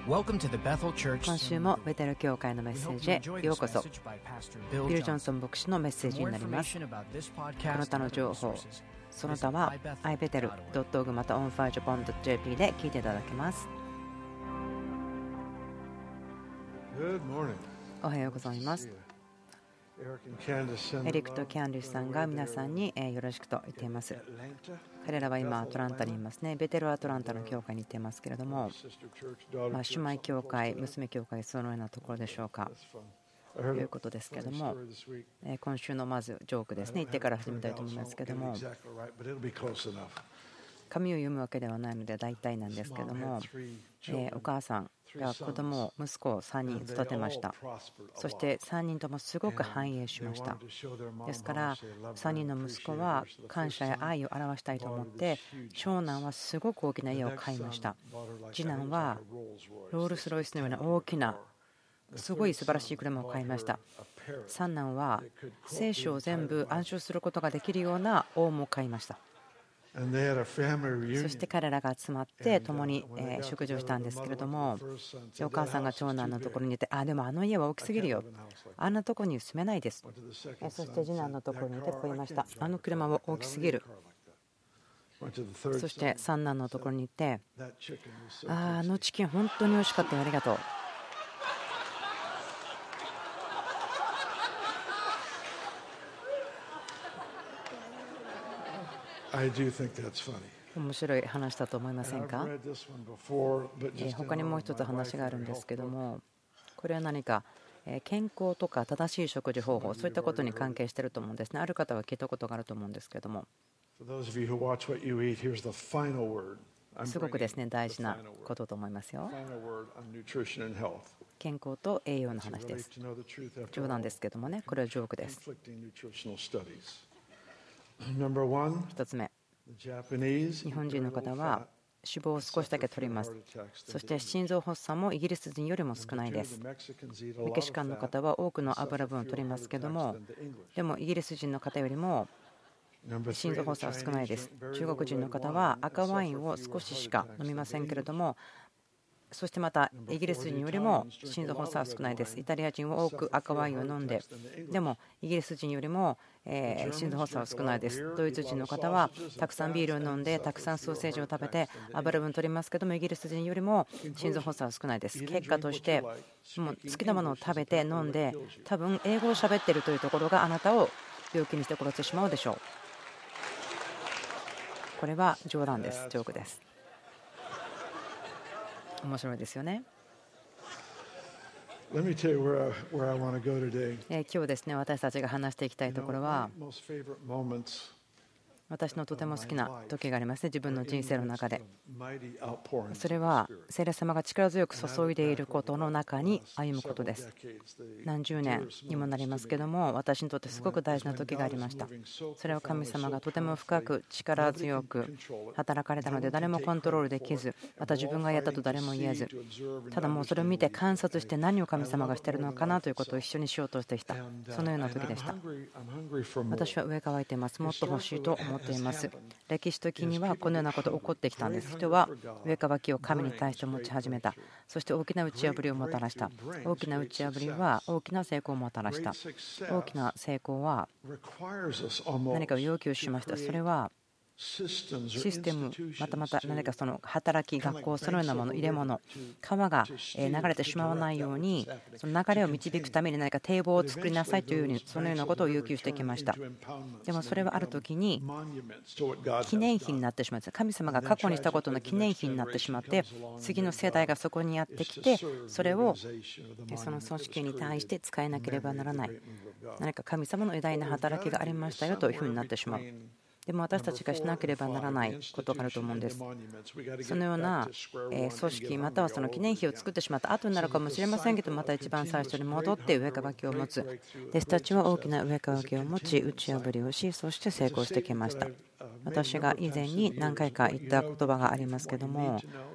今週もベテル教会のメッセージへようこそ。ビル・ジョンソン牧師のメッセージになります。この他の情報、その他は ibetel.org また onfirejapan.jp で聞いていただけます。おはようございます。エリックとキャンディスさんが皆さんによろしくと言っています。彼らは今アトランタにいますね。ベテルアトランタの教会に行っていますけれども、姉妹教会、娘教会、そのようなところでしょうかということですけれども、今週のまずジョークですね、言ってから始めたいと思いますけれども、紙を読むわけではないので大体なんですけれども、お母さんが子供を息子を3人育てました。そして3人ともすごく繁栄しました。ですから3人の息子は感謝や愛を表したいと思って、長男はすごく大きな家を買いました。次男はロールスロイスのような大きなすごい素晴らしい車を買いました。三男は聖書を全部暗唱することができるようなオウムを買いました。そして彼らが集まって共に食事をしたんですけれども、お母さんが長男のところにいて、でもあの家は大きすぎるよ、あんなところに住めないです。そして次男のところにいてこう言いました。あの車は大きすぎる。そして三男のところに行って、あのチキン本当に美味しかったよ、ありがとう。面白い話だと思いませんか？他にもう一つ話があるんですけども、これは何か健康とか正しい食事方法、そういったことに関係していると思うんですね。ある方は聞いたことがあると思うんですけども、すごくですね大事なことと思いますよ。健康と栄養の話です。冗談ですけどもね、これはジョークです。1つ目、日本人の方は脂肪を少しだけ取ります。そして心臓発作もイギリス人よりも少ないです。メキシカンの方は多くの油分を取りますけども、でもイギリス人の方よりも心臓発作は少ないです。中国人の方は赤ワインを少ししか飲みませんけれども、そしてまたイギリス人よりも心臓発作は少ないです。イタリア人は多く赤ワインを飲んで、でもイギリス人よりも心臓発作は少ないです。ドイツ人の方はたくさんビールを飲んで、たくさんソーセージを食べて油分取りますけども、イギリス人よりも心臓発作は少ないです。結果としてもう好きなものを食べて飲んで、多分英語を喋っているというところがあなたを病気にして殺してしまうでしょう。これは冗談です。ジョークです。面白いですよね。今日ですね、私たちが話していきたいところは、私のとても好きな時がありますね、自分の人生の中で。それは聖霊様が力強く注いでいることの中に歩むことです。何十年にもなりますけども、私にとってすごく大事な時がありました。それは神様がとても深く力強く働かれたので、誰もコントロールできず、また自分がやったと誰も言えず、ただもうそれを見て観察して何を神様がしているのかなということを一緒にしようとしてきた、そのような時でした。私は上乾いています。もっと欲しいと思っています。歴史的にはこのようなことが起こってきたんです。人は上乾きを神に対して持ち始めた。そして大きな打ち破りをもたらした。大きな打ち破りは大きな成功をもたらした。大きな成功は何かを要求しました。それはシステム、またまた何かその働き、学校、そのようなもの、入れ物、川が流れてしまわないように、その流れを導くために何か堤防を作りなさいというように、そのようなことを要求してきました。でもそれはある時に記念碑になってしまうんです。神様が過去にしたことの記念碑になってしまって、次の世代がそこにやってきて、それをその組織に対して使えなければならない。何か神様の偉大な働きがありましたよというふうになってしまう。でも私たちがしなければならないことがあると思うんです。そのような組織またはその記念碑を作ってしまった後になるかもしれませんけど、また一番最初に戻って上乾きを持つ。弟子たちは大きな上乾きを持ち、打ち破りをし、そして成功してきました。私が以前に何回か言った言葉がありますけども、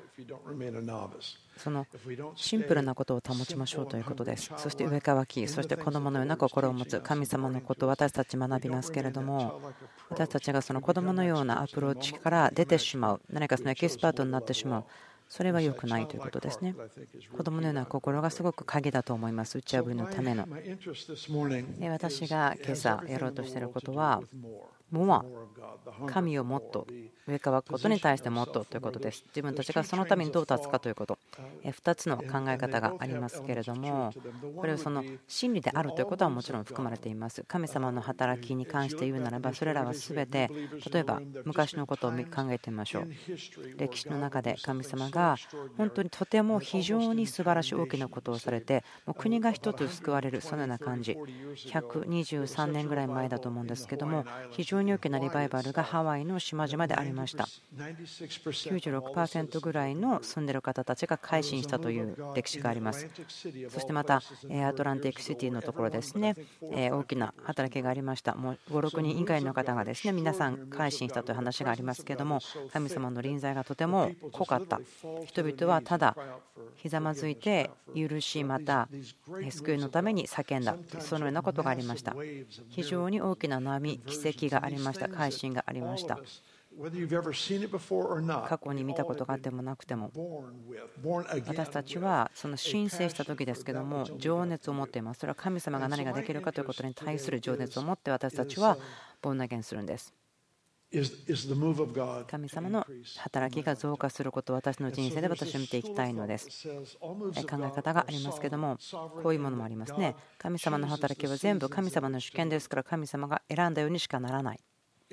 そのシンプルなことを保ちましょうということです。そして上乾き、そして子供のような心を持つ神様のことを私たち学びますけれども、私たちがその子供のようなアプローチから出てしまう、何かそのエキスパートになってしまう、 それは良くないということですね。子供のような心がすごく鍵だと思います。打ち破りのための。私が今朝やろうとしていることは、もは神をもっと上からくことに対してもっとということです。自分たちがそのためにどう立つかということ。2つの考え方がありますけれども、これはその真理であるということはもちろん含まれています。神様の働きに関して言うならば、それらは全て、例えば昔のことを考えてみましょう。歴史の中で神様が本当にとても非常に素晴らしい大きなことをされて、もう国が一つ救われる、そのような感じ。123年ぐらい前だと思うんですけども、非常に大きなリバイバルがハワイの島々でありました。96% ぐらいの住んでいる方たちが改心したという歴史があります。そしてまたアトランティックシティのところですね、大きな働きがありました。もう5、6人以外の方がですね、皆さん改心したという話がありますけれども、神様の臨在がとても濃かった。人々はただひざまずいて許し、また救いのために叫んだ、そのようなことがありました。非常に大きな波、奇跡がありました。改心がありました。過去に見たことがあってもなくても、私たちはその申請した時ですけども、情熱を持っています。それは神様が何ができるかということに対する情熱を持って私たちはボーンアゲンするんです。神様の働きが増加することを私の人生で私は見ていきたいのです。考え方がありますけども、こういうものもありますね。神様の働きは全部神様の主権ですから、神様が選んだようにしかならない。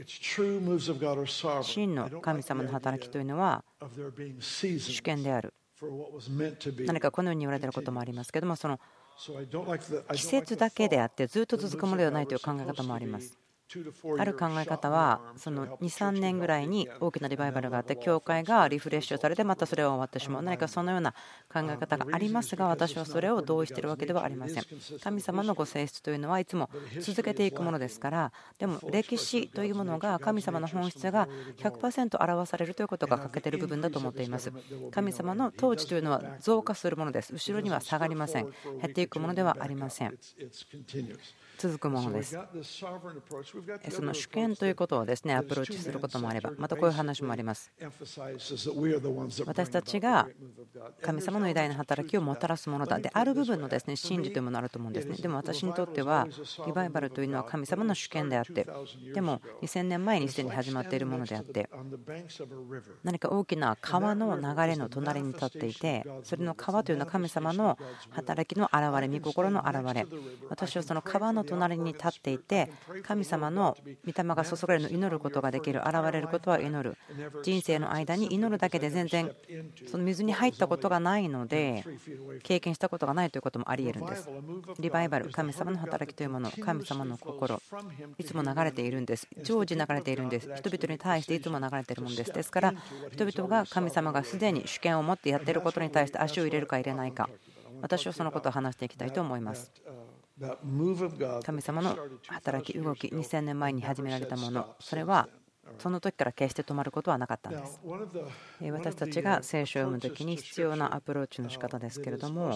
真の神様の働きというのは主権である。何かこのように言われていることもありますけども、その季節だけであってずっと続くものではないという考え方もあります。ある考え方はその 2,3 年ぐらいに大きなリバイバルがあって、教会がリフレッシュされてまたそれは終わってしまう、何かそのような考え方がありますが、私はそれを同意しているわけではありません。神様のご性質というのはいつも続けていくものですから。でも歴史というものが神様の本質が 100% 表されるということが欠けている部分だと思っています。神様の統治というのは増加するものです。後ろには下がりません。減っていくものではありません。続くものです。その主権ということをですね、アプローチすることもあれば、またこういう話もあります。私たちが神様の偉大な働きをもたらすものだである部分のですね、真理というものがあると思うんですね。でも私にとってはリバイバルというのは神様の主権であって、でも2000年前にすでに始まっているものであって、何か大きな川の流れの隣に立っていて、それの川というのは神様の働きの現れ、御心の現れ。私はその川の隣に立っていて、神様の御霊が注がれるのを祈ることができる、現れることは祈る。人生の間に祈るだけで全然その水に入ったことがないので、経験したことがないということもあり得るんです。リバイバル、神様の働きというもの、神様の心、いつも流れているんです。常時流れているんです。人々に対していつも流れているものです。ですから人々が神様がすでに主権を持ってやっていることに対して足を入れるか入れないか、私はそのことを話していきたいと思います。神様の働き、動き、2000年前に始められたもの、それはその時から決して止まることはなかったんです。私たちが聖書を読む時に必要なアプローチの仕方ですけれども、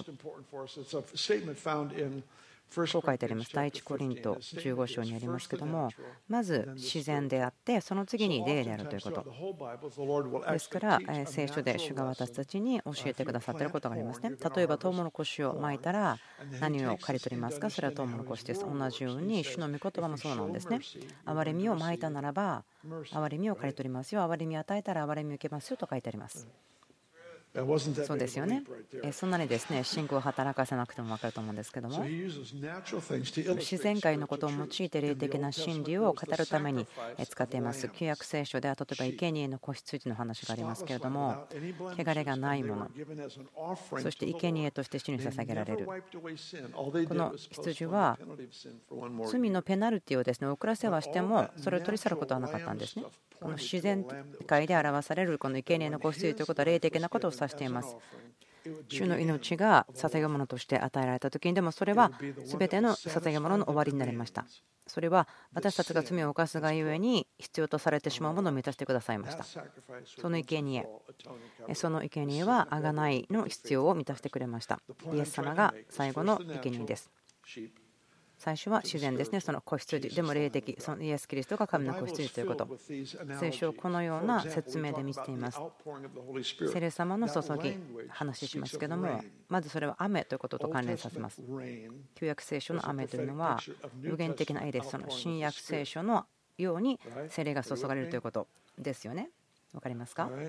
こう書いてあります。第一コリント15章にありますけども、まず自然であって、その次に霊であるということ。ですから、聖書で主が私たちに教えてくださっていることがありますね。例えば、トウモロコシをまいたら何を刈り取りますか？それはトウモロコシです。同じように、主の御言葉もそうなんですね。憐れみをまいたならば、憐れみを刈り取りますよ。憐れみを与えたら憐れみを受けますよと書いてあります。そうですよね。そんなにですね、信仰を働かせなくても分かると思うんですけども、自然界のことを用いて霊的な真理を語るために使っています。旧約聖書では例えば生贄の子羊の話がありますけれども、汚れがないもの、そして生贄として主に捧げられる。この羊は罪のペナルティをですね、遅らせはしてもそれを取り去ることはなかったんですね。この自然界で表されるこの生贄の子羊ということは霊的なことを指しています。主の命が捧げ物として与えられた時に、でもそれは全ての捧げ物の終わりになりました。それは私たちが罪を犯すがゆえに必要とされてしまうものを満たしてくださいました。その生贄は贖いの必要を満たしてくれました。イエス様が最後の生贄です。 最初は自然ですね、その子羊でも霊的、そのイエス・キリストが神の子羊ということ。聖書をこのような説明で見せています。聖霊様の注ぎ、話しますけども、まずそれは雨ということと関連させます。旧約聖書の雨というのは無限的な絵です。その新約聖書のように聖霊が注がれるということですよね。わかりますか？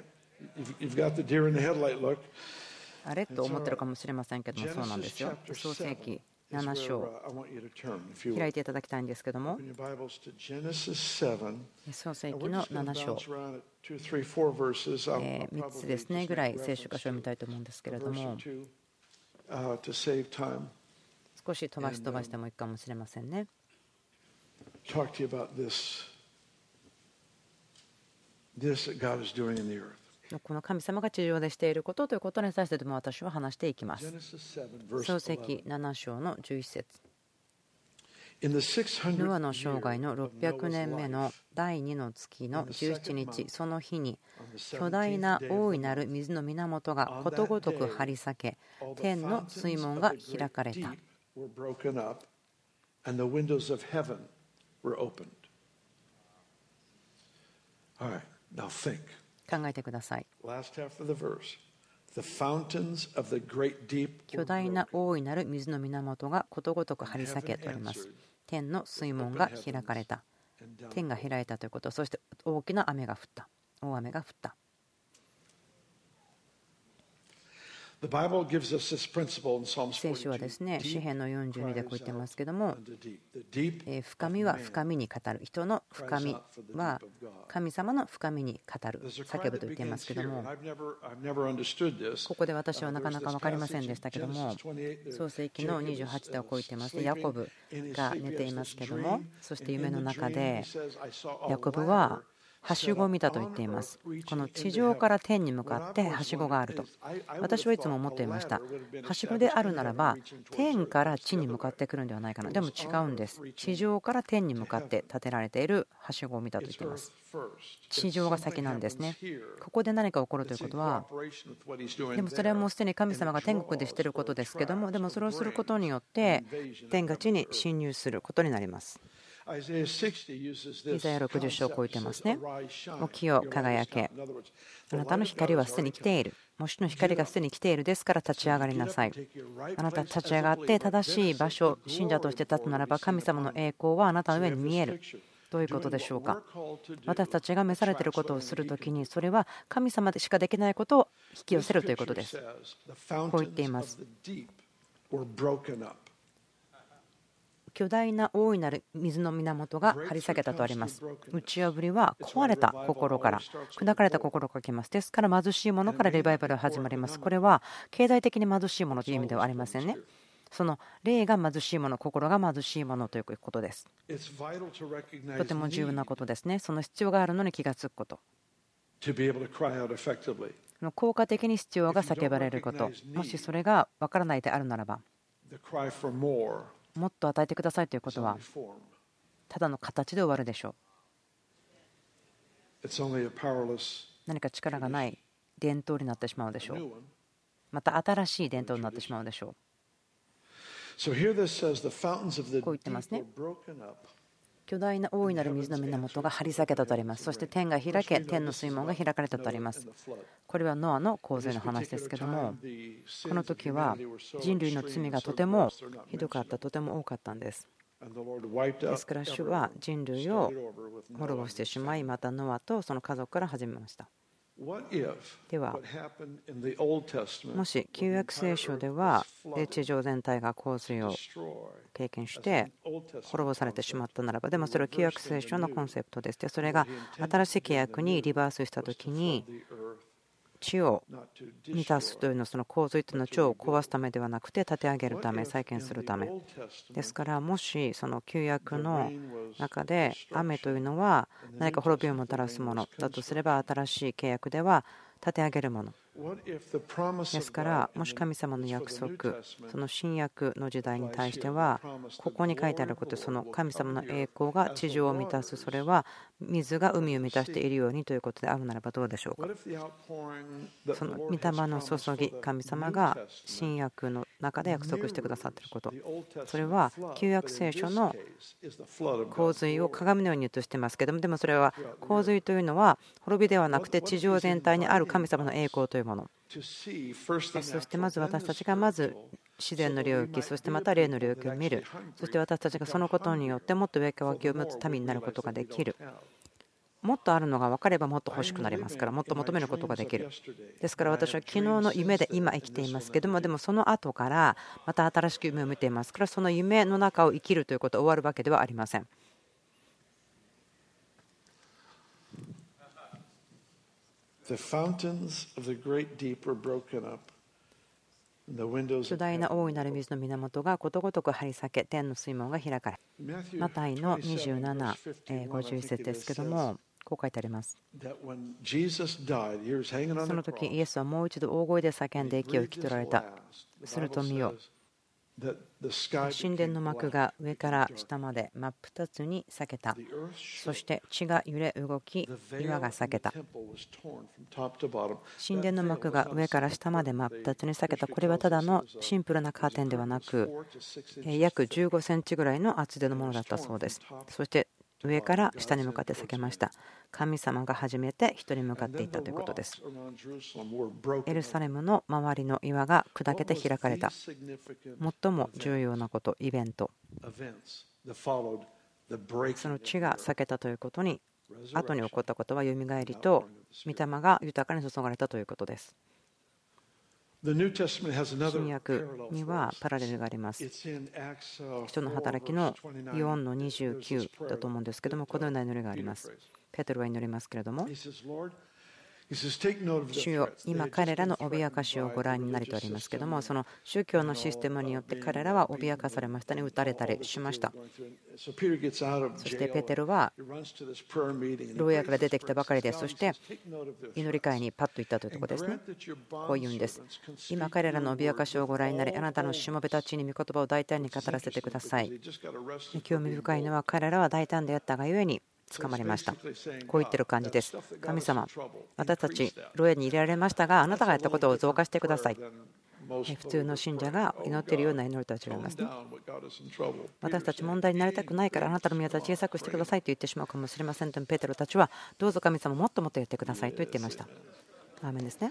あれと思ってるかもしれませんけども、そうなんですよ。創世記7章開いていただきたいんですけども、創世記の7章3つですねぐらい聖書箇所を読みたいと思うんですけれども、少し飛ばしてもいいかもしれませんね。この神様が地上でしていることということに対しても私は話していきます。創世記7章の11節。ノアの生涯の600年目の第2の月の17日、その日に巨大な大いなる水の源がことごとく張り裂け、天の水門が開かれた。考えてください。巨大な大いなる水の源がことごとく張り裂けとあります。天の水門が開かれた。天が開いたということ、そして大きな雨が降った。大雨が降った。聖書はですね、詩篇の42でこう言ってますけども、深みは深みに語る。人の深みは神様の深みに語る。叫ぶと言っていますけども、ここで私はなかなか分かりませんでしたけども、創世記の28ではこう言ってますね。ヤコブが寝ていますけども、そして夢の中でヤコブははしごを見たと言っています。この地上から天に向かってはしごがあると私はいつも思っていました。はしごであるならば天から地に向かってくるんではないかな。でも違うんです。地上から天に向かって建てられているはしごを見たと言っています。地上が先なんですね。ここで何か起こるということは、でもそれはもうすでに神様が天国でしていることですけども、でもそれをすることによって天が地に侵入することになります。イザヤ60章を超えてますね。起きよ輝け。あなたの光はすでに来ている。もしの光がすでに来ているですから立ち上がりなさい。あなた立ち上がって正しい場所、信者として立つならば神様の栄光はあなたの上に見える。どういうことでしょうか。私たちが召されていることをするときに、それは神様でしかできないことを引き寄せるということです。こう言っています。巨大な大いなる水の源が張り裂けたとあります。打ち破りは壊れた心から、砕かれた心から来ます。ですから貧しいものからリバイバルが始まります。これは経済的に貧しいものという意味ではありませんね。その霊が貧しいもの、心が貧しいものということです。とても重要なことですね。その必要があるのに気がつくこと。効果的に必要が叫ばれること。もしそれが分からないであるならば、もっと与えてくださいということはただの形で終わるでしょう。何か力がない伝統になってしまうでしょう。また新しい伝統になってしまうでしょう。こう言ってますね。巨大な大いなる水の源が張り裂けたとあります。そして天が開け、天の水門が開かれたとあります。これはノアの洪水の話ですけども、この時は人類の罪がとてもひどかった、とても多かったんです。ですから主は人類を滅ぼしてしまい、またノアとその家族から始めました。では、もし旧約聖書では地上全体が洪水を経験して滅ぼされてしまったならば、でもそれは旧約聖書のコンセプトです。でそれが新しい契約にリバースしたときに、地を満たすというのは、その洪水というのは地を壊すためではなくて立て上げるため、再建するためですから、もしその旧約の中で雨というのは何か滅びをもたらすものだとすれば、新しい契約では立て上げるものですから、もし神様の約束、その新約の時代に対しては、ここに書いてあること、その神様の栄光が地上を満たす、それは水が海を満たしているようにということであるならばどうでしょうか。その御霊の注ぎ、神様が新約の中で約束してくださっていること、それは旧約聖書の洪水を鏡のように映していますけれども、でもそれは洪水というのは滅びではなくて地上全体にある神様の栄光というもの。そしてまず私たちがまず自然の領域、そしてまた霊の領域を見る。そして私たちがそのことによってもっと上脇を持つ民になることができる。もっとあるのが分かればもっと欲しくなりますから、もっと求めることができる。ですから私は昨日の夢で今生きていますけども、でもその後からまた新しく夢を見ていますから、その夢の中を生きるということは終わるわけではありません。巨大な大いなる水の源がことごとく張り裂け、天の水門が開かれ。マタイの27、51節ですけども、こう書いてあります。その時イエスはもう一度大声で叫んで息を引き取られた。すると見よ、神殿の幕が上から下まで真っ二つに裂けた。そして地が揺れ動き、岩が裂けた。神殿の幕が上から下まで真っ二つに裂けた。これはただのシンプルなカーテンではなく、約15センチぐらいの厚手のものだったそうです。そして上から下に向かって裂けました。神様が初めて人に向かっていったということです。エルサレムの周りの岩が砕けて開かれた。最も重要なこと、イベント。その地が裂けたということに、後に起こったことはよみがえりと御霊が豊かに注がれたということです。新約にはパラレルがあります。人の働きの4の29だと思うんですけども、このような祈りがあります。ペテロは祈りますけれども、主よ、今彼らの脅かしをご覧になりとありますけども、その宗教のシステムによって彼らは脅かされましたね、撃たれたりしました。そしてペテロは牢屋から出てきたばかりです。そして祈り会にパッと行ったというところですね。こう言うんです。今彼らの脅かしをご覧になり、あなたのしもべたちに御言葉を大胆に語らせてください。興味深いのは、彼らは大胆であったがゆえに捕まりました。こう言ってる感じです。神様、私たち牢屋に入れられましたが、あなたがやったことを増加してください。普通の信者が祈っているような祈りとは違いますね。私たち問題になりたくないから、あなたの宮座を小さくしてくださいと言ってしまうかもしれませんと、ペテロたちはどうぞ神様もっともっと言ってくださいと言っていました。アーメンですね。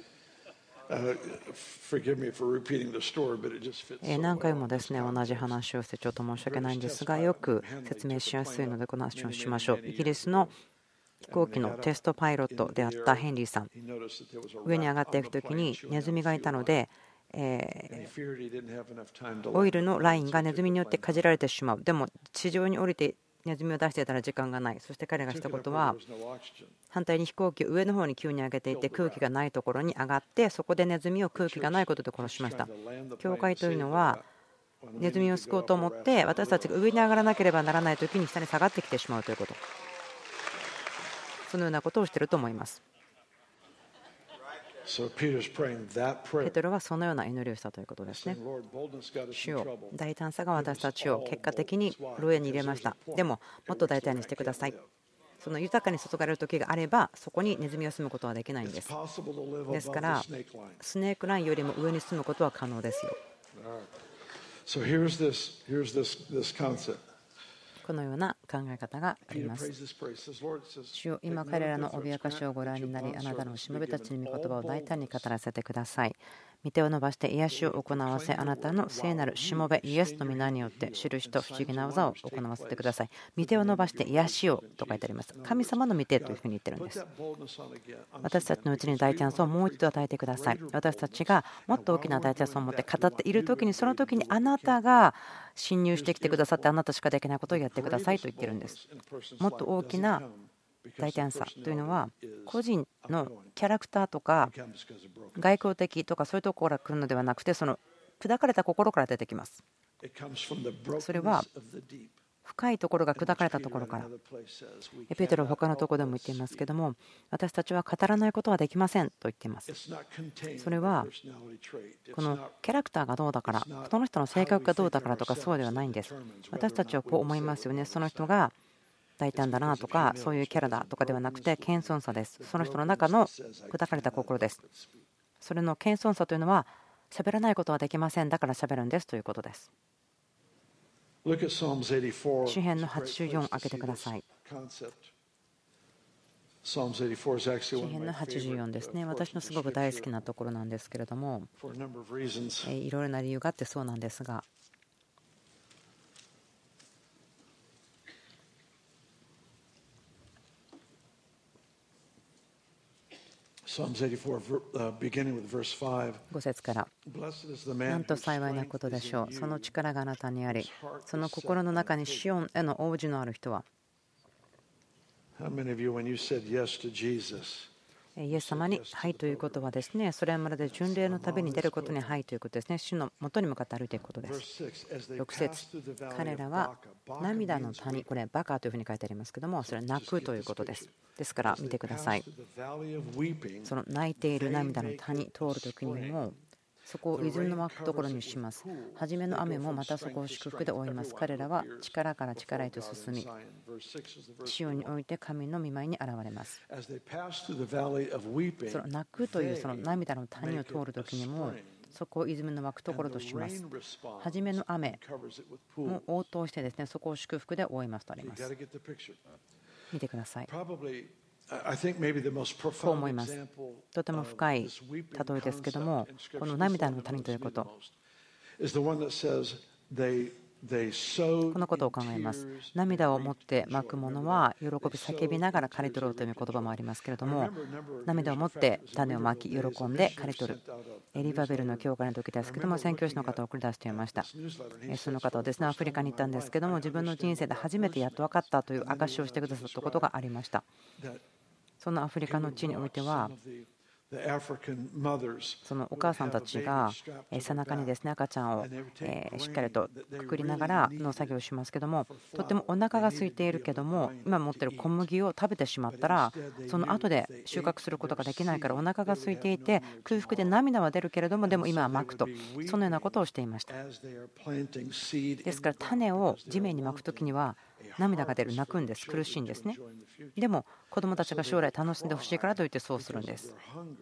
何回もですね、同じ話をしてちょっと申し訳ないんですが、よく説明しやすいのでこの話をしましょう。イギリスの飛行機のテストパイロットであったヘンリーさん、上に上がっていくときにネズミがいたので、オイルのラインがネズミによってかじられてしまう。でも地上に降りてネズミを出していたら時間がない。そして彼がしたことは、反対に飛行機を上の方に急に上げていて、空気がないところに上がって、そこでネズミを空気がないことで殺しました。教会というのはネズミを救おうと思って、私たちが上に上がらなければならないときに下に下がってきてしまうということ、そのようなことをしていると思います。ペテロはそのような祈りをしたということですね。主よ、大胆さが私たちを結果的に牢屋に入れました。でももっと大胆にしてください。その豊かに注がれる時があれば、そこにネズミを住むことはできないんです。ですからスネークラインよりも上に住むことは可能ですよ。このような考え方があります。主よ、今彼らの脅かしをご覧になり、あなたのしもべたちに御言葉を大胆に語らせてください。御手を伸ばして癒しを行わせ、あなたの聖なるしもべイエスの皆によって印と不思議な技を行わせてください。御手を伸ばして癒しをと書いてあります。神様の御手というふうに言ってるんです。私たちのうちに大チャンスをもう一度与えてください。私たちがもっと大きな大チャンスを持って語っている時に、その時にあなたが侵入してきてくださって、あなたしかできないことをやってくださいと言ってるんです。もっと大きな大胆さというのは、個人のキャラクターとか外交的とかそういうところから来るのではなくて、その砕かれた心から出てきます。それは深いところが砕かれたところから。ペテロは他のところでも言っていますけども、私たちは語らないことはできませんと言っています。それはこのキャラクターがどうだから、その人の性格がどうだからとかそうではないんです。私たちはこう思いますよね。その人が大胆だなとかそういうキャラだとかではなくて、謙遜さです。その人の中の砕かれた心です。それの謙遜さというのは、喋らないことはできません、だから喋るんですということです。詩編の84開けてください。詩編の84ですね。私のすごく大好きなところなんですけれども、いろいろな理由があってそうなんですが、5節から、なんと幸いなことでしょう。その力があなたにあり、その心の中にシオンへの応じのある人は。イエス様にはいということはですね、それはまるで巡礼の旅に出ることにはいということですね。主の元に向かって歩いていくことです。6節、彼らは涙の谷、これバカというふうに書いてありますけども、それは泣くということです。ですから見てください。その泣いている涙の谷通るときにも、そこを泉の湧くところにします。初めの雨もまたそこを祝福で覆います。彼らは力から力へと進み、シオンにおいて神の御前に現れます。その泣くというその涙の谷を通るときにも、そこを泉の湧くところとします。初めの雨も応答してですね、そこを祝福で覆いますとあります。見てください。こう思います。とても深い例えですけども、この涙の谷ということ、このことを考えます。涙を持ってまくものは喜び叫びながら刈り取ろうという言葉もありますけれども、涙を持って種をまき喜んで刈り取る。エリバベルの教会の時ですけども、宣教師の方を送り出していました。その方はですね、アフリカに行ったんですけども、自分の人生で初めてやっと分かったという証しをしてくださったことがありました。そのアフリカの地においては、そのお母さんたちが背中にですね、赤ちゃんをしっかりとくくりながら農作業をしますけども、とってもお腹が空いているけども、今持っている小麦を食べてしまったら、その後で収穫することができないから、お腹が空いていて空腹で涙は出るけれども、でも今はまくと、そのようなことをしていました。ですから種を地面にまくときには涙が出る、泣くんです、苦しいんですね。でも子どもたちが将来楽しんでほしいからといってそうするんです。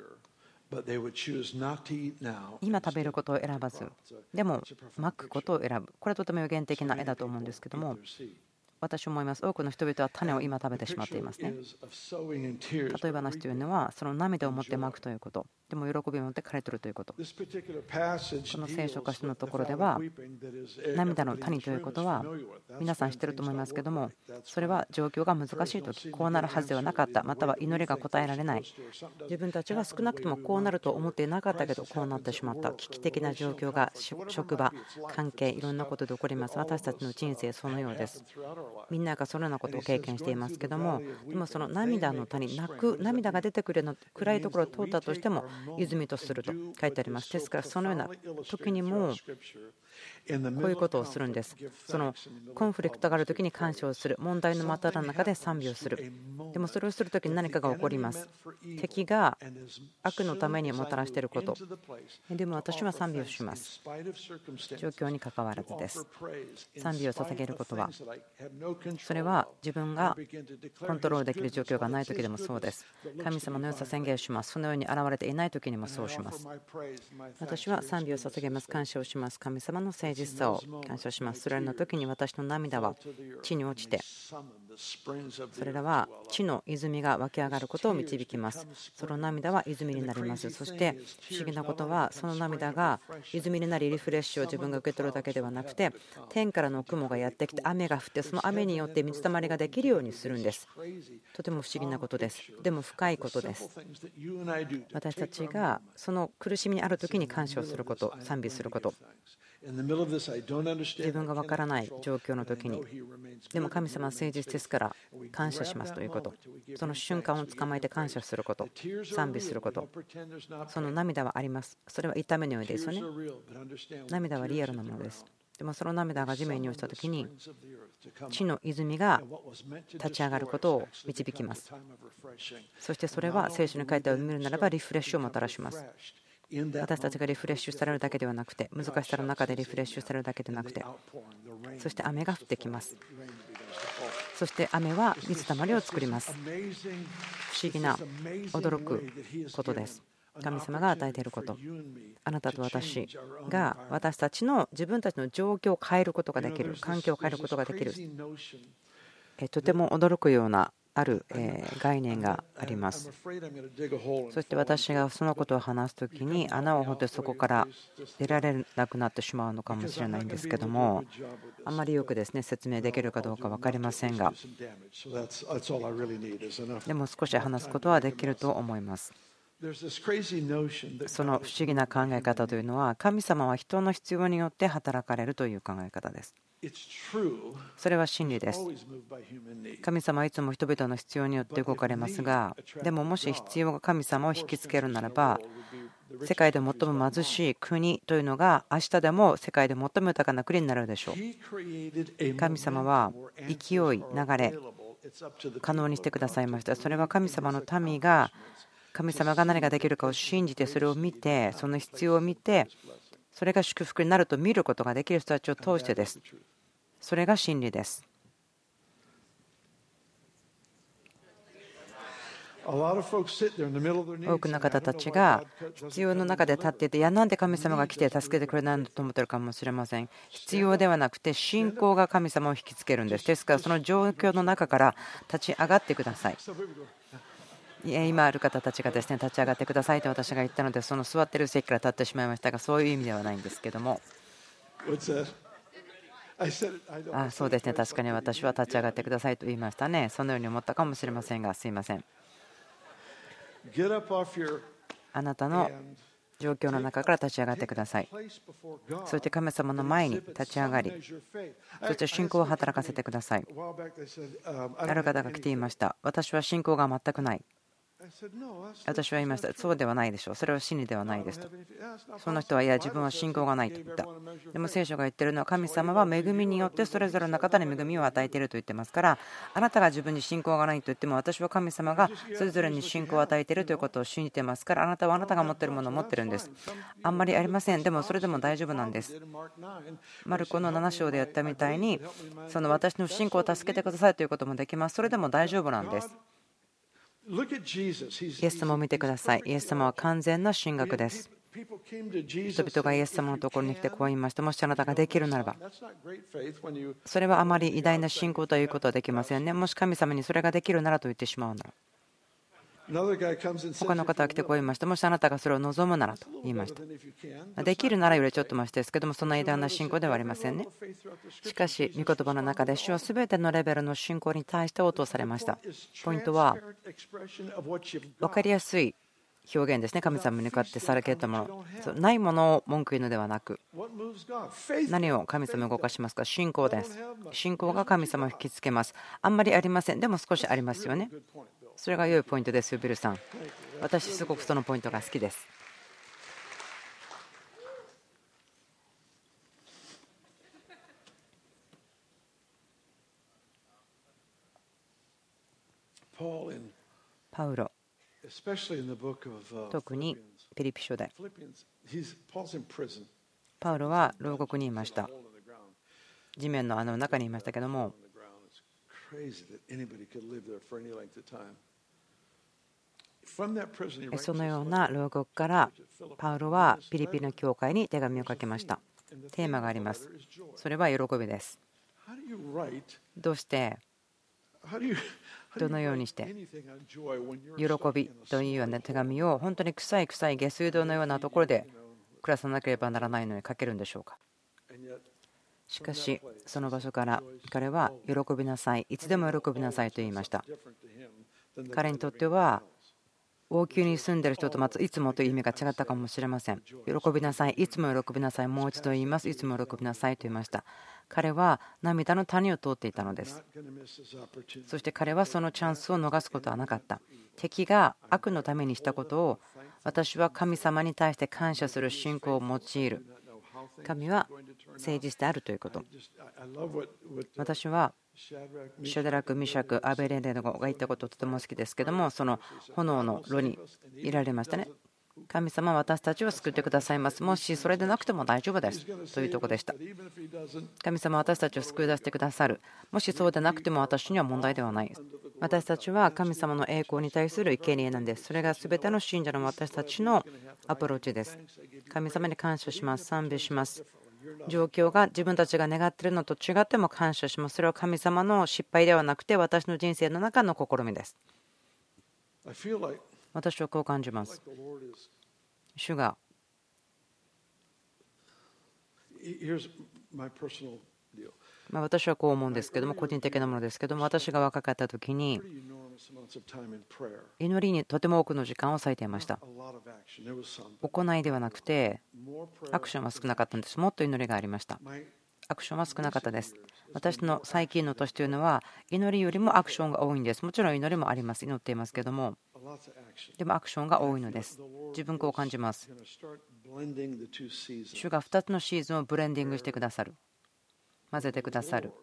今食べることを選ばず、でもまくことを選ぶ。これはとても予言的な絵だと思うんですけども、私は思います。多くの人々は種を今食べてしまっていますね。例え話というのは、その涙を持ってまくということ、でも喜びを持って刈り取るということ。この聖書箇所のところでは、涙の谷ということは皆さん知ってると思いますけども、それは状況が難しい時、こうなるはずではなかった、または祈りが答えられない、自分たちは少なくともこうなると思っていなかったけどこうなってしまった、危機的な状況が職場、関係、いろんなことで起こります。私たちの人生そのようです。みんながそのようなことを経験していますけども、でもその涙の谷、泣く涙が出てくるの暗いところを通ったとしても泉とすると書いてあります。ですからそのような時にもこういうことをするんです。そのコンフリクトがある時に感謝をする、問題の真っ只中で賛美をする。でもそれをする時に何かが起こります。敵が悪のためにもたらしていること、でも私は賛美をします。状況にかかわらずです。賛美を捧げることは、それは自分がコントロールできる状況がない時でもそうです。神様の良さ宣言します。そのように現れていない時にもそうします。私は賛美を捧げます。感謝をします。神様の誠実さを感謝します。それらの時に私の涙は地に落ちて、それらは地の泉が湧き上がることを導きます。その涙は泉になります。そして不思議なことは、その涙が泉になりリフレッシュを自分が受け取るだけではなくて、天からの雲がやってきて雨が降って、その雨によって水たまりができるようにするんです。とても不思議なことです。でも深いことです。私たちがその苦しみにある時に感謝をすること、賛美すること、自分がわからない状況の時に、でも神様は誠実ですから感謝しますということ、その瞬間を捕まえて感謝すること、賛美すること、その涙はあります。それは痛みのようですよね。涙はリアルなものです。 でもその涙が地面に落ちた時に地の泉が立ち上がることを導きます。そしてそれは聖書に書いてある見るならばリフレッシュをもたらします。私たちがリフレッシュされるだけではなくて、難しさの中でリフレッシュされるだけでなくて、そして雨が降ってきます。そして雨は水たまりを作ります。不思議な驚くことです。神様が与えていること、あなたと私が私たちの自分たちの状況を変えることができる、環境を変えることができる、とても驚くようなある概念があります。そして私がそのことを話すときに穴を掘ってそこから出られなくなってしまうのかもしれないんですけども、あんまりよくですね説明できるかどうか分かりませんが、でも少し話すことはできると思います。その不思議な考え方というのは、神様は人の必要によって働かれるという考え方です。それは真理です。神様はいつも人々の必要によって動かれますが、でももし必要が神様を引きつけるならば、世界で最も貧しい国というのが明日でも世界で最も豊かな国になるでしょう。神様は勢い、流れ可能にしてくださいました。それは神様の民が神様が何ができるかを信じて、それを見て、その必要を見て、それが祝福になると見ることができる人たちを通してです。それが真理です。多くの方たちが必要の中で立っていて、いや、なんで神様が来て助けてくれないのと思ってるかもしれません。必要ではなくて、信仰が神様を引きつけるんです。ですから、その状況の中から立ち上がってください。今ある方たちがですね、立ち上がってくださいと私が言ったので、その座っている席から立ってしまいましたが、そういう意味ではないんですけども、そうですね、確かに私は立ち上がってくださいと言いましたね。そのように思ったかもしれませんが、すいません。あなたの状況の中から立ち上がってください。そして神様の前に立ち上がり、そして信仰を働かせてください。ある方が来ていました。私は信仰が全くない。私は言いました。そうではないでしょう。それは真理ではないですと。その人は、いや、自分は信仰がないと言った。でも聖書が言っているのは、神様は恵みによってそれぞれの方に恵みを与えていると言ってますから、あなたが自分に信仰がないと言っても、私は神様がそれぞれに信仰を与えているということを信じてますから、あなたはあなたが持っているものを持っているんです。あんまりありません。でもそれでも大丈夫なんです。マルコの7章でやったみたいに、その私の不信仰を助けてくださいということもできます。それでも大丈夫なんです。イエス様を見てください。イエス様は完全な神学です。人々がイエス様のところに来てこう言いました。もしあなたができるならば、それはあまり偉大な信仰ということはできませんね。もし神様にそれができるならと言ってしまうなら。他の方が来てこう言いました。もしあなたがそれを望むならと言いました。できるならよりちょっとマシですけども、そんな偉大な信仰ではありませんね。しかし、御言葉の中で主は全てのレベルの信仰に対して応答されました。ポイントは、分かりやすい表現ですね。神様に向かってされたもの、ないものを文句言うのではなく、何を神様を動かしますか。信仰です。信仰が神様を引きつけます。あんまりありません。でも少しありますよね。それが良いポイントですよ、ビルさん。私すごくそのポイントが好きです。パウロ、特にピリピ書でパウロは牢獄にいました。地面の穴の中にいましたけども、そのような牢獄からパウロはピリピの教会に手紙を書きました。テーマがあります。それは喜びです。どうしてどのようにして喜びというような手紙を本当に臭い下水道のようなところで暮らさなければならないのに書けるんでしょうか。しかしその場所から彼は喜びなさい、いつでも喜びなさいと言いました。彼にとっては王宮に住んでいる人といつもという意味が違ったかもしれません。喜びなさい、いつも喜びなさい、もう一度言います、いつも喜びなさいと言いました。彼は涙の谷を通っていたのです。そして彼はそのチャンスを逃すことはなかった。敵が悪のためにしたことを私は神様に対して感謝する信仰を用いる。神は誠実であるということ。私はシャドラク、ミシャク、アベレネゴが言ったこととても好きですけども、その炎の炉にいられましたね。神様は私たちを救ってくださいます。もしそれでなくても大丈夫ですというところでした。神様は私たちを救い出してくださる。もしそうでなくても私には問題ではない。私たちは神様の栄光に対する生贄なんです。それが全ての信者の私たちのアプローチです。神様に感謝します。賛美します。状況が自分たちが願っているのと違っても感謝します。それは神様の失敗ではなくて私の人生の中の試みです。私はこう感じます。主が私はこう思うんですけども、個人的なものですけども、私が若かった時に祈りにとても多くの時間を割いていました。行いではなくてアクションは少なかったんです。もっと祈りがありました。アクションは少なかったです。私の最近の年というのは祈りよりもアクションが多いんです。もちろん祈りもあります。祈っていますけども、でもアクションが多いのです。自分こう感じます。主が2つのシーズンをブレンディングしてくださる。混ぜてくださる。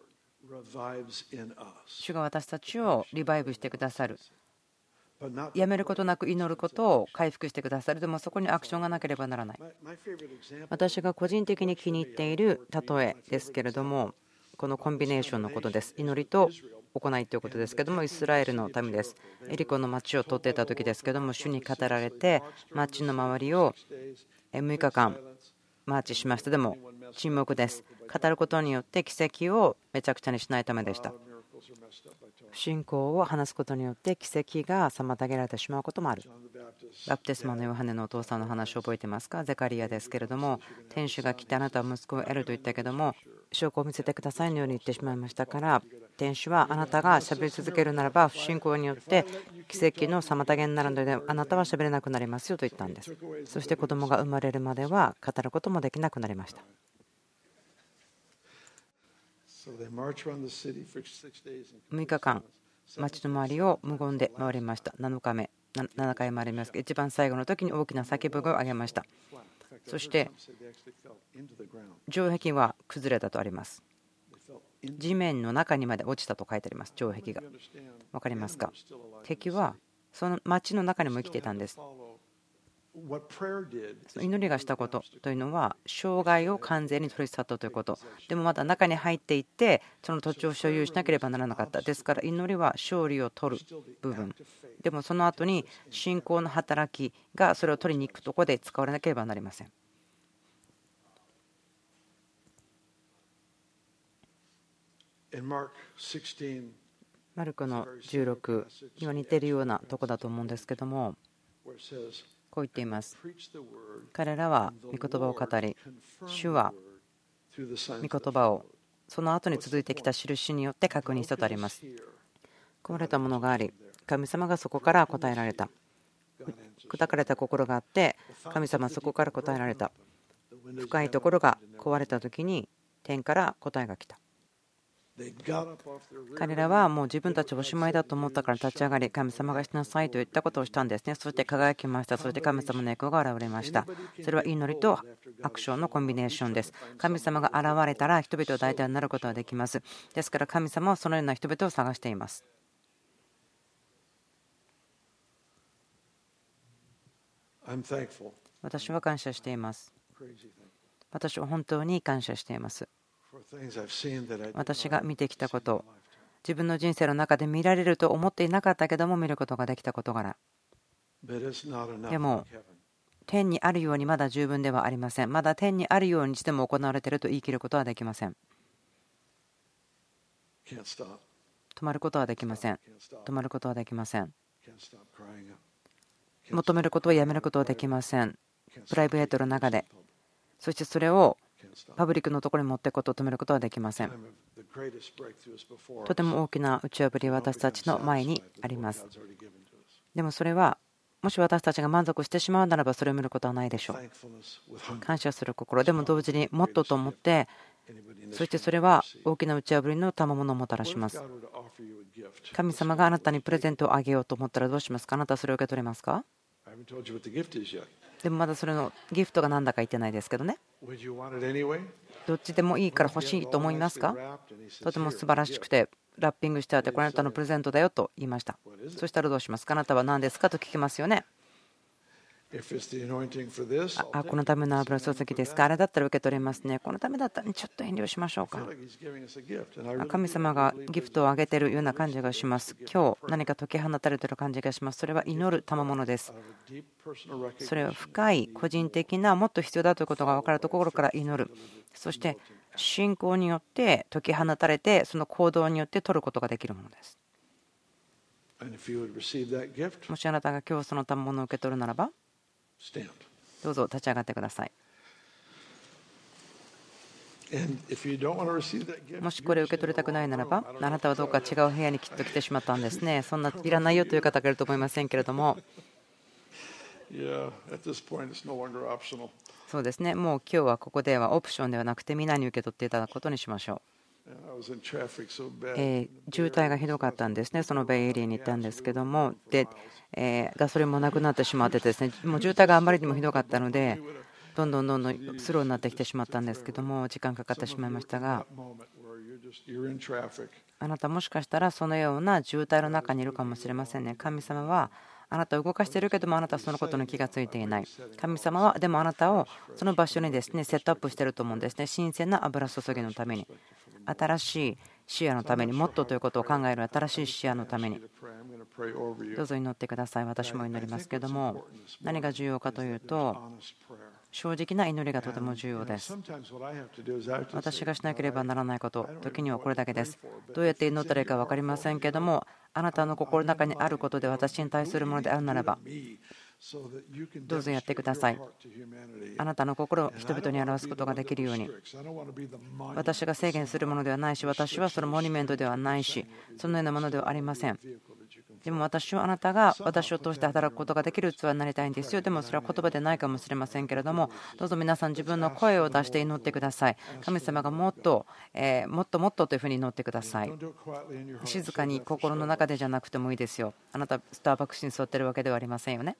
主が私たちをリバイブしてくださる。やめることなく祈ることを回復してくださる。でもそこにアクションがなければならない。私が個人的に気に入っている例えですけれども、このコンビネーションのことです。祈りと行いということですけども、イスラエルの民です。エリコの町を取っていた時ですけども、主に語られて町の周りを6日間マーチしました。でも沈黙です。語ることによって奇跡をめちゃくちゃにしないためでした。不信仰を話すことによって奇跡が妨げられてしまうこともある。バプテスマのヨハネのお父さんの話を覚えていますか？ゼカリアですけれども、天使が来てあなたは息子を得ると言ったけども、証拠を見せてくださいのように言ってしまいましたから、天使はあなたがしゃべり続けるならば不信仰によって奇跡の妨げになるのであなたはしゃべれなくなりますよと言ったんです。そして子供が生まれるまでは語ることもできなくなりました。6日間町の周りを無言で回りました。7日目7回回りますが、一番最後の時に大きな叫び声を上げました。そして城壁は崩れたとあります。地面の中にまで落ちたと書いてあります。城壁が分かりますか？敵はその町の中にも生きていたんです。祈りがしたことというのは障害を完全に取り去ったということ。でもまだ中に入っていってその土地を所有しなければならなかった。ですから祈りは勝利を取る部分でも、その後に信仰の働きがそれを取りに行くところで使われなければなりません。マルコの16には似ているようなところだと思うんですけども、こう言っています。彼らは御言葉を語り、主は御言葉をその後に続いてきた印によって確認したとあります。壊れたものがあり、神様がそこから答えられた。砕かれた心があって、神様はそこから答えられた。深いところが壊れた時に天から答えが来た。彼らはもう自分たちおしまいだと思ったから立ち上がり、神様がしなさいと言ったことをしたんですね。そして輝きました。そして神様の栄光が現れました。それは祈りとアクションのコンビネーションです。神様が現れたら人々を大体になることができます。ですから神様はそのような人々を探しています。私は感謝しています。私は本当に感謝しています。私が見てきたこと、自分の人生の中で見られると思っていなかったけども見ることができた事柄。でも天にあるようにまだ十分ではありません。まだ天にあるようにしても行われていると言い切ることはできません。止まることはできません。止まることはできません。求めることをやめることはできません。プライベートの中で、そしてそれをパブリックのところに持っていくことを止めることはできません。とても大きな打ち破りは私たちの前にあります。でもそれはもし私たちが満足してしまうならばそれを見ることはないでしょう。感謝する心でも同時にもっとと思って、そしてそれは大きな打ち破りの賜物をもたらします。神様があなたにプレゼントをあげようと思ったらどうしますか？あなたはそれを受け取れますか？でもまだそれのギフトが何だか言ってないですけどね。 どっちでもいいから欲しいと思いますか？とても素晴らしくてラッピングしてあって、これあなたのプレゼントだよと言いました。そしたらどうしますか？あなたは何ですかと聞きますよね。このための油注ぎですか？あれだったら受け取れますね。このためだったらちょっと遠慮しましょうか。神様がギフトをあげているような感じがします。今日何か解き放たれている感じがします。それは祈る賜物です。それは深い個人的なもっと必要だということが分かるところから祈る。そして信仰によって解き放たれて、その行動によって取ることができるものです。もしあなたが今日その賜物を受け取るならば、どうぞ立ち上がってください。もしこれを受け取りたくないならば、あなたはどうか違う部屋にきっと来てしまったんですね。そんないらないよという方がいると思いませんけれども、そうですね、もう今日はここではオプションではなくて皆に受け取っていただくことにしましょう。渋滞がひどかったんですね。そのベイエリアに行ったんですけども、でガソリンもなくなってしまってですね、もう渋滞があまりにもひどかったので、どんどんスローになってきてしまったんですけども、時間かかってしまいましたが、あなたもしかしたらそのような渋滞の中にいるかもしれませんね。神様はあなたを動かしているけども、あなたはそのことに気がついていない。神様はでもあなたをその場所にですねセットアップしていると思うんですね。新鮮な油注ぎのために、新しい視野のために、もっとということを考える新しい視野のために、どうぞ祈ってください。私も祈りますけども、何が重要かというと、正直な祈りがとても重要です。私がしなければならないこと、時にはこれだけです。どうやって祈ったらいいか分かりませんけども、あなたの心の中にあることで私に対するものであるならば、どうぞやってください。あなたの心を人々に表すことができるように。私が制限するものではないし、私はそのモニュメントではないし、そのようなものではありません。でも私はあなたが私を通して働くことができる器になりたいんですよ。でもそれは言葉でないかもしれませんけれども、どうぞ皆さん自分の声を出して祈ってください。神様がもっともっともっとというふうに祈ってください。静かに心の中でじゃなくてもいいですよ。あなたスターバックスに座ってるわけではありませんよね。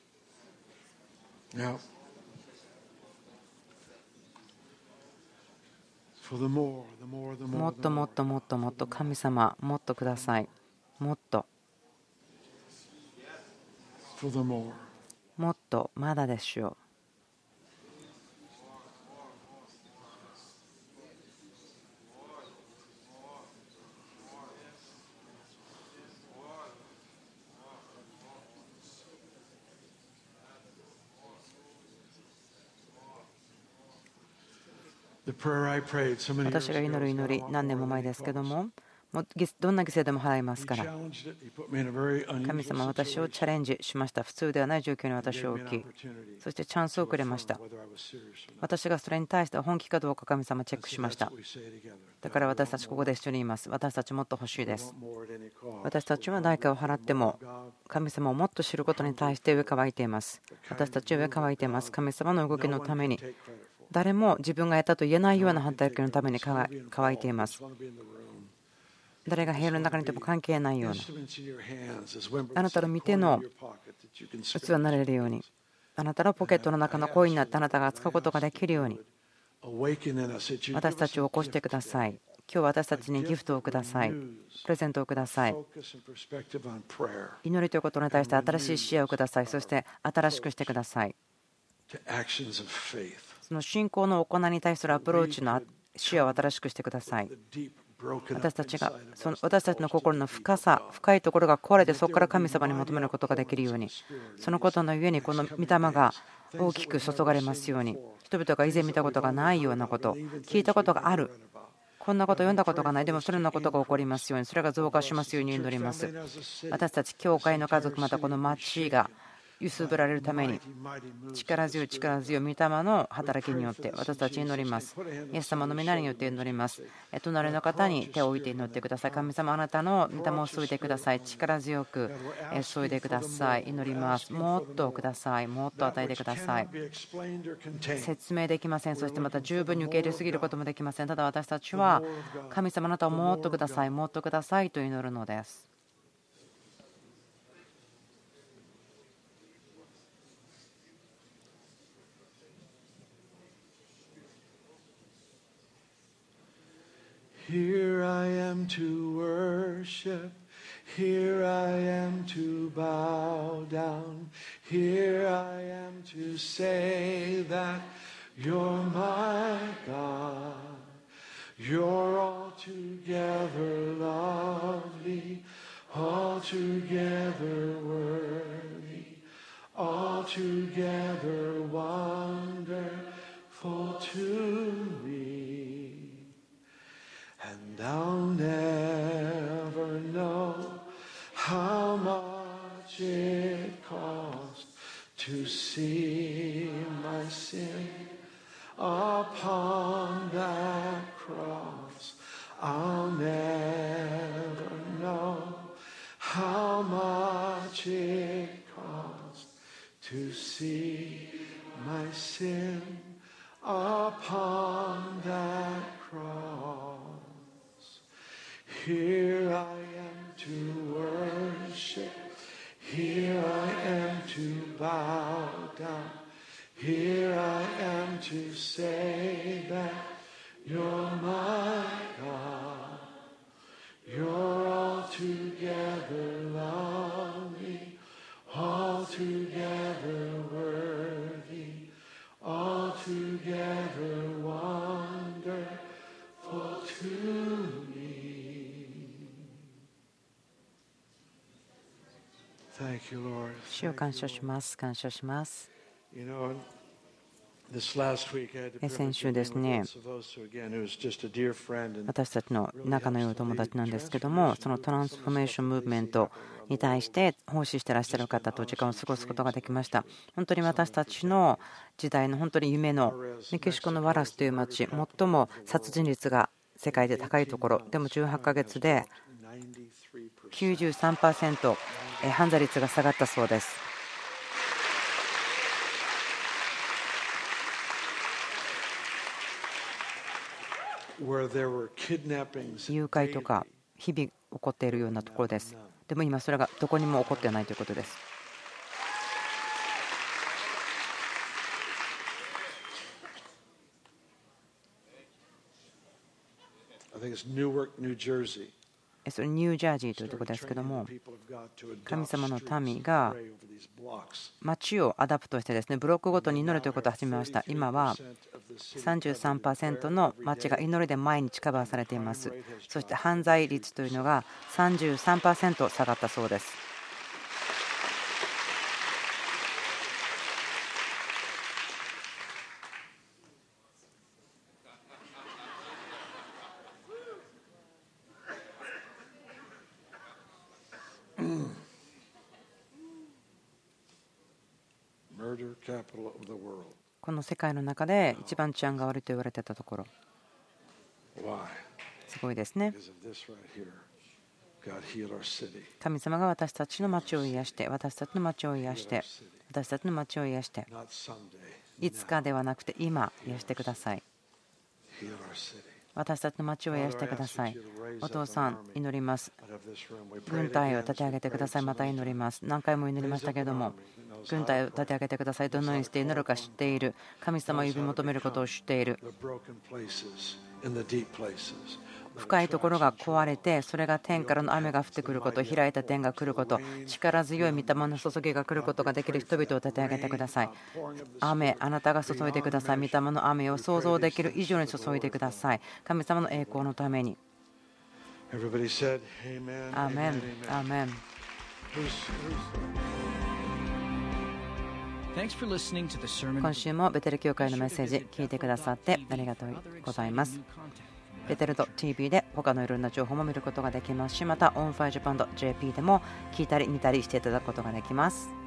もっともっともっともっと神様、もっとください。もっともっとまだでしょう。私が祈る祈り、何年も前ですけども、どんな犠牲でも払いますから。神様は私をチャレンジしました。普通ではない状況に私を置き、そしてチャンスをくれました。私がそれに対して本気かどうか神様チェックしました。だから私たちここで一緒にいます。私たちもっと欲しいです。私たちは代価を払っても神様をもっと知ることに対して上乾いています。私たちは上乾いています。神様の動きのために、誰も自分がやったと言えないような働きのために乾いています。誰が部屋の中にいても関係ないような、あなたの見ての器になれるように、あなたのポケットの中のコインになってあなたが扱うことができるように、私たちを起こしてください。今日私たちにギフトをください。プレゼントをください。祈りということに対して新しい視野をください。そして新しくしてください。その信仰の行いに対するアプローチの視野を新しくしてください。私たちの心の深いところが壊れて、そこから神様に求めることができるように、そのことのゆえにこの御霊が大きく注がれますように、人々が以前見たことがないようなこと、聞いたことがある、こんなこと読んだことがない、でもそれらのことが起こりますように、それが増加しますように祈ります。私たち教会の家族、またこの町が揺すぶられるために、力強い力強い御霊の働きによって私たち祈ります。イエス様の皆によって祈ります。隣の方に手を置いて祈ってください。神様、あなたの御霊を注いでください。力強く注いでください。祈ります。もっとください。もっと与えてください。説明できません。そしてまた十分に受け入れすぎることもできません。ただ私たちは神様、あなたをもっとください。もっとくださいと祈るのです。 Here I am to bow down. Here I am to say that you're my God. You're altogether lovely, altogether worthy, altogether wonderful to me. And I'll never know how much it cost to see my sin upon that cross. I'll never know how much it cost to see my sin upon that cross. Here I am to worship. Here I am to bow down. Here I am to say that you're my God. You're altogether lovely, altogether worthy, altogether wonderful to me. Thank you, Lord. 主を感謝します。感謝します。先週ですね、私たちの仲の良い友達なんですけども、そのトランスフォーメーションムーブメントに対して奉仕してらっしゃる方と時間を過ごすことができました。本当に私たちの時代の本当に夢のメキシコのワラスという町、最も殺人率が世界で高いところでも18ヶ月で 93% 犯罪率が下がったそうです。誘拐とか日々起こっているようなところです。でも今それがどこにも起こっていないということです。それニュージャージーというところですけども、神様の民が町をアダプトしてですね、ブロックごとに祈るということを始めました。今は 33% の町が祈りで毎日カバーされています。そして犯罪率というのが 33% 下がったそうです。この世界の中で一番治安が悪いと言われていたところ、すごいですね。神様が私たちの町を癒して、私たちの町を癒して、私たちの町を癒して、いつかではなくて今癒してください。私たちの町を癒してください。お父さん、祈ります。軍隊を立て上げてください。また祈ります。何回も祈りましたけれども、軍隊を立て上げてください。どのようにして祈るか知っている。神様を呼び求めることを知っている。深いところが壊れて、それが天からの雨が降ってくること、開いた天が来ること、力強い御霊の注ぎが来ることができる人々を立て上げてください。雨、あなたが注いでください。御霊の雨を想像できる以上に注いでください。神様の栄光のために。アーメン。アーメン。今週もベテル教会のメッセージ聞いてくださってありがとうございます。ベテルと TV で他のいろんな情報も見ることができますし、また OnFireJapan.jp でも聞いたり見たりしていただくことができます。